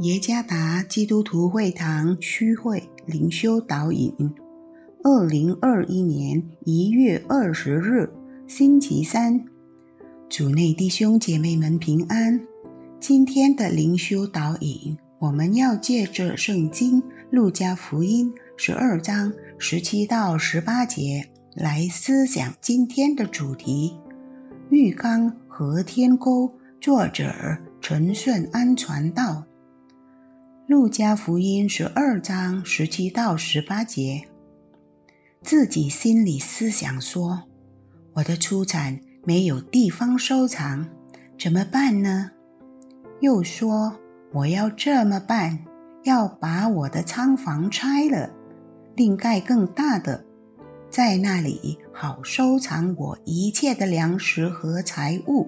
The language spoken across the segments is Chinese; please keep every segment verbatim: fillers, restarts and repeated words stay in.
耶加达基督徒会堂区会灵修导引，二零二一年一月二十日，星期三。主内弟兄姐妹们平安。今天的灵修导引，我们要借着圣经路加福音十二章十七到十八节来思想今天的主题：浴缸和天沟。作者陈顺安传道。路加福音十二章十七到十八节，自己心里思想说，我的出产没有地方收藏，怎么办呢？又说，我要这么办，要把我的仓房拆了，另盖更大的，在那里好收藏我一切的粮食和财物。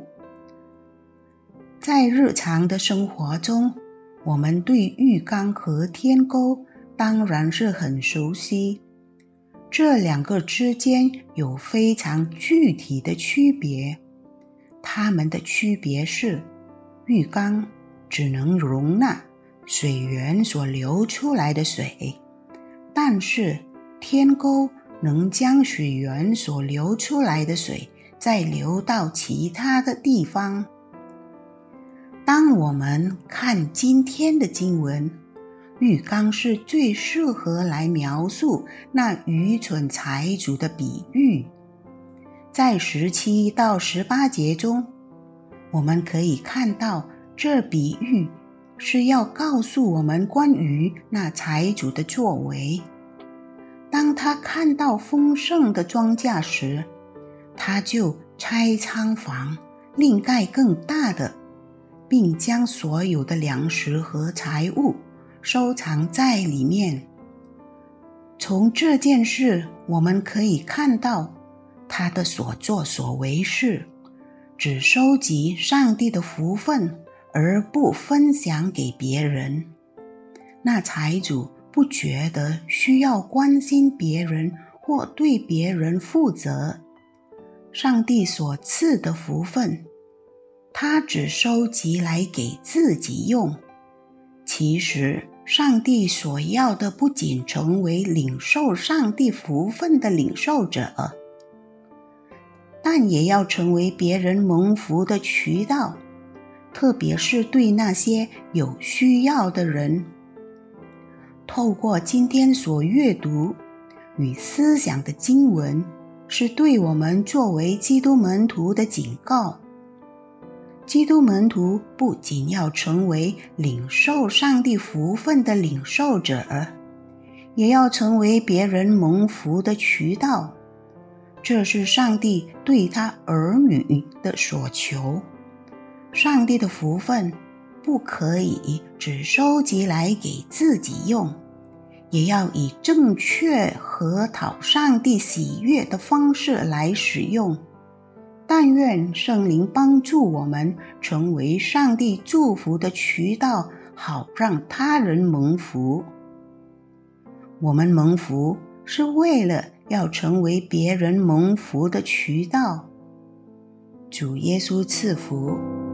在日常的生活中，我们对浴缸和天沟当然是很熟悉，这两个之间有非常具体的区别。它们的区别是，浴缸只能容纳水源所流出来的水，但是天沟能将水源所流出来的水再流到其他的地方。当我们看今天的经文，浴缸是最适合来描述那愚蠢财主的比喻。在十七到十八节中，我们可以看到这比喻是要告诉我们关于那财主的作为。当他看到丰盛的庄稼时，他就拆仓房，另盖更大的，并将所有的粮食和财物收藏在里面。从这件事我们可以看到，他的所作所为是只收集上帝的福分，而不分享给别人。那财主不觉得需要关心别人或对别人负责，上帝所赐的福分他只收集来给自己用。其实上帝所要的不仅成为领受上帝福分的领受者，但也要成为别人蒙福的渠道，特别是对那些有需要的人。透过今天所阅读与思想的经文，是对我们作为基督门徒的警告。基督门徒不仅要成为领受上帝福分的领受者，也要成为别人蒙福的渠道。这是上帝对他儿女的所求。上帝的福分不可以只收集来给自己用，也要以正确和讨上帝喜悦的方式来使用。但愿圣灵帮助我们成为上帝祝福的渠道，好让他人蒙福。我们蒙福是为了要成为别人蒙福的渠道。主耶稣赐福。